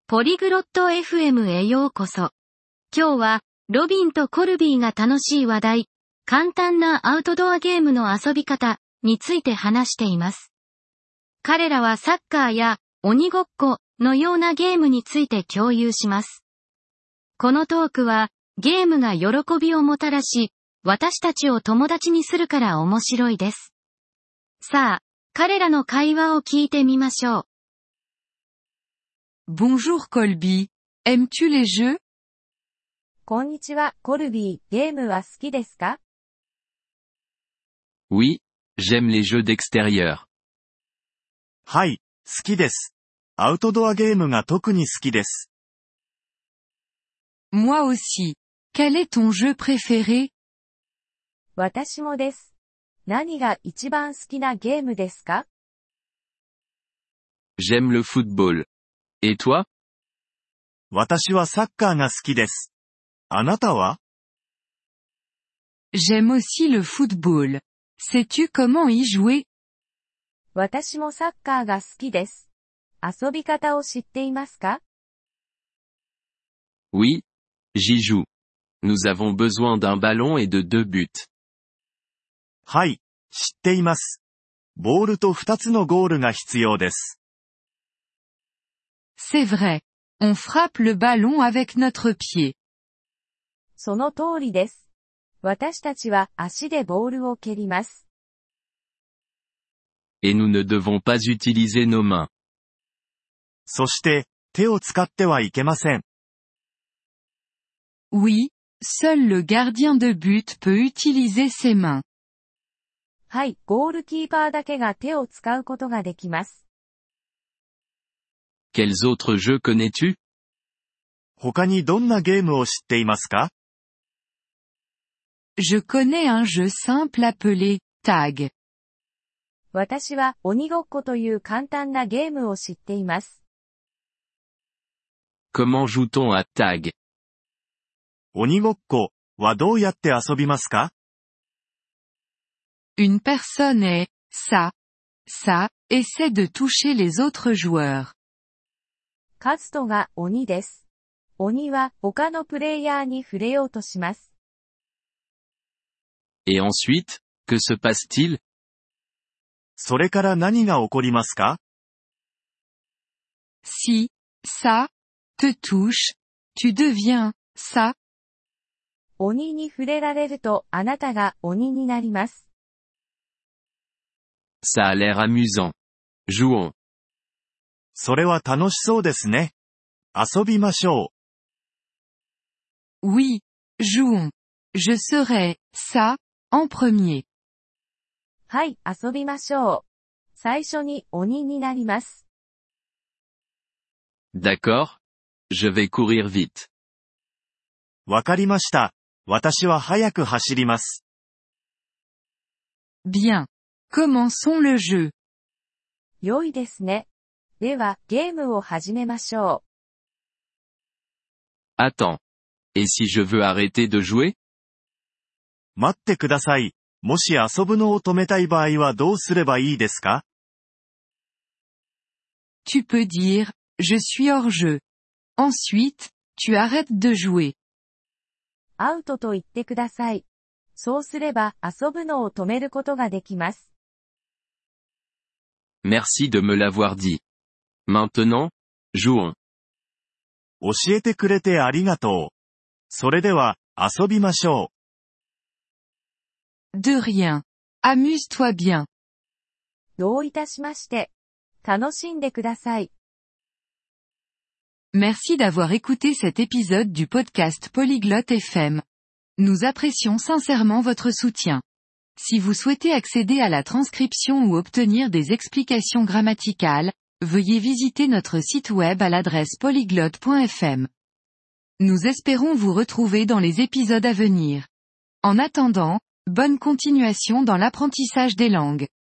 ポリグロット FM へようこそ。今日は、ロビンとコルビーが楽しい話題、簡単なアウトドアゲームの遊び方について話しています。彼らはサッカーや鬼ごっこのようなゲームについて共有します。このトークは、ゲームが喜びをもたらし、私たちを友達にするから面白いです。さあ、彼らの会話を聞いてみましょう。 Bonjour Colby, aimes-tu les jeux? こんにちは、コルビー、ゲームは好きですか？ Oui, j'aime les jeux d'extérieur. はい、好きです。アウトドアゲームが特に好きです。 Moi aussi. Quel est ton jeu préféré? 私もです。何が一番好きなゲームですか？ J'aime le football. Et toi? 私はサッカーが好きです。あなたは？ J'aime aussi le football. Sais-tu comment y jouer? 私もサッカーが好きです。遊び方を知っていますか？ Oui, j'y joue. Nous avons besoin d'un ballon et de 2 buts. はい、知っています。ボールと2つのゴールが必要です。 C'est vrai. On frappe le ballon avec notre pied. その通りです。私たちは足でボールを蹴ります。 Et nous ne devons pas utiliser nos mains. そして、手を使ってはいけません。 Oui, seul le gardien de but peut utiliser ses mains. はい、ゴールキーパーだけが手を使うことができます。 Quels autres jeux connais-tu? 他にどんなゲームを知っていますか？ Je connais un jeu simple appelé Tag. 私は鬼ごっこという簡単なゲームを知っています。 Comment joue-t-on à Tag? 鬼ごっこはどうやって遊びますか？ Une personne ça, essaie de toucher les autres joueurs. カズトが鬼です。鬼は他のプレイヤーに触れようとします。 Et ensuite, que se passe-t-il? それから何が起こりますか？ Si, ça, te touche, tu deviens ça. 鬼に触れられるとあなたが鬼になります。 Ça a l'air amusant. Jouons. それは楽しそうですね。遊びましょう。Oui, jouons. Je serai ça, en premier. はい、遊びましょう。最初に鬼になります。 D'accord. Je vais courir vite. わかりました。私は早く走ります。 Bien. Commençons le jeu. 良いですね。では、ゲームを始めましょう。Attends. Et si je veux arrêter de jouer? 待ってください。もし遊ぶのを止めたい場合はどうすればいいですか？ Tu peux dire, je suis hors jeu. Ensuite, tu arrêtes de jouer. アウトと言ってください。そうすれば遊ぶのを止めることができます。 Merci de me l'avoir dit. Maintenant, jouons. 教えてくれてありがとう。それでは、遊びましょう。De rien. Amuse-toi bien. どういたしまして。楽しんでください。 Merci d'avoir écouté cet épisode du podcast Polyglotte FM. Nous apprécions sincèrement votre soutien. Si vous souhaitez accéder à la transcription ou obtenir des explications grammaticales, veuillez visiter notre site web à l'adresse polyglotte.fm. Nous espérons vous retrouver dans les épisodes à venir. En attendant, bonne continuation dans l'apprentissage des langues.